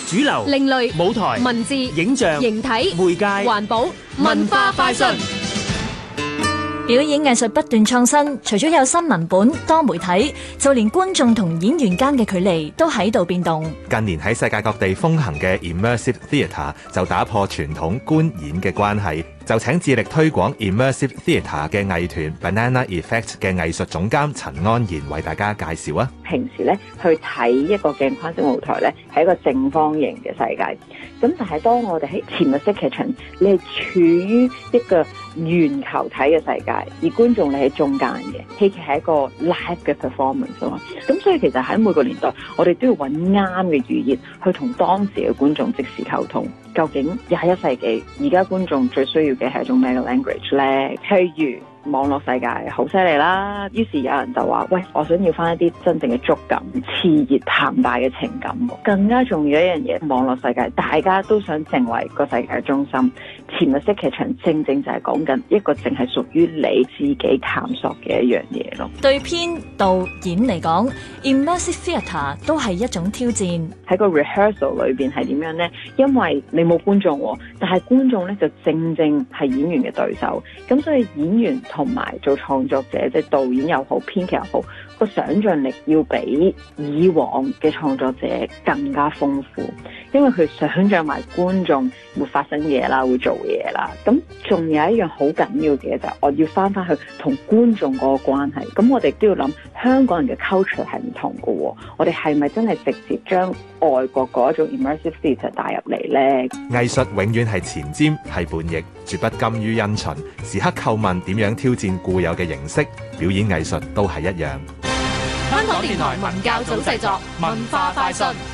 主流、 另類、 舞台、 文字、 影像、 形體、 媒介、 環保、文化快訊。 表演藝術不斷創新，除咗有新文本、多媒體，就連觀眾同演員間嘅距離都喺度變動。 近年喺世界各地風行嘅 Immersive Theatre 就打破傳統觀演嘅關係，就請致力推廣 Immersive Theatre 嘅藝團 Banana Effect 嘅藝術總監陳安然為大家介紹啊。 平時咧去睇一個鏡框式舞台咧係一個正方形嘅世界，咁但係當我哋喺潛入式劇場，你係處於一個圓球體嘅世界，而觀眾你喺中間嘅。戲劇係一個 live 嘅 performance 啊嘛，咁所以其實喺每個年代，我哋都要揾啱嘅語言去同當時嘅觀眾即時溝通。究竟21世紀而家觀眾最需要嘅係一種咩嘅 language 咧？譬如網絡世界好犀利啦，於是有人就話：喂，我想要翻一啲真正嘅觸感、熾熱澎湃嘅情感。更加重要一樣嘢，網絡世界大家都想成為個世界嘅中心。潛入式劇場正正就係講緊一個淨係屬於你自己探索嘅一樣嘢咯。 對編導演嚟講 ，Immersive Theatre 都係一種挑戰。 喺個 rehearsal 裏邊係點樣呢？因為你冇觀眾喎，但係觀眾咧就正正係演員嘅對手，咁所以演員同埋做創作者，即係導演又好、編劇又好，個想像力要比以往嘅創作者更加豐富，因為佢想像埋觀眾會發生嘢啦，會做嘢啦。咁仲有一樣好緊要嘅就係我要翻去同觀眾嗰個關係。咁我哋都要諗香港人嘅 culture 係唔同嘅喎，我哋係咪真係直接將外國嗰一種 immersive theatre 帶入嚟呢？ 藝術永遠係前瞻，係叛逆，絕不甘於因循，時刻叩問點樣挑戰固有嘅形式。表演藝術都係一樣。 香港電台文教組製作，文化快訊。